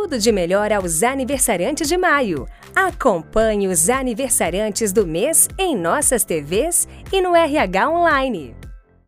tudo de melhor aos aniversariantes de maio. Acompanhe os aniversariantes do mês em nossas TVs e no RH Online.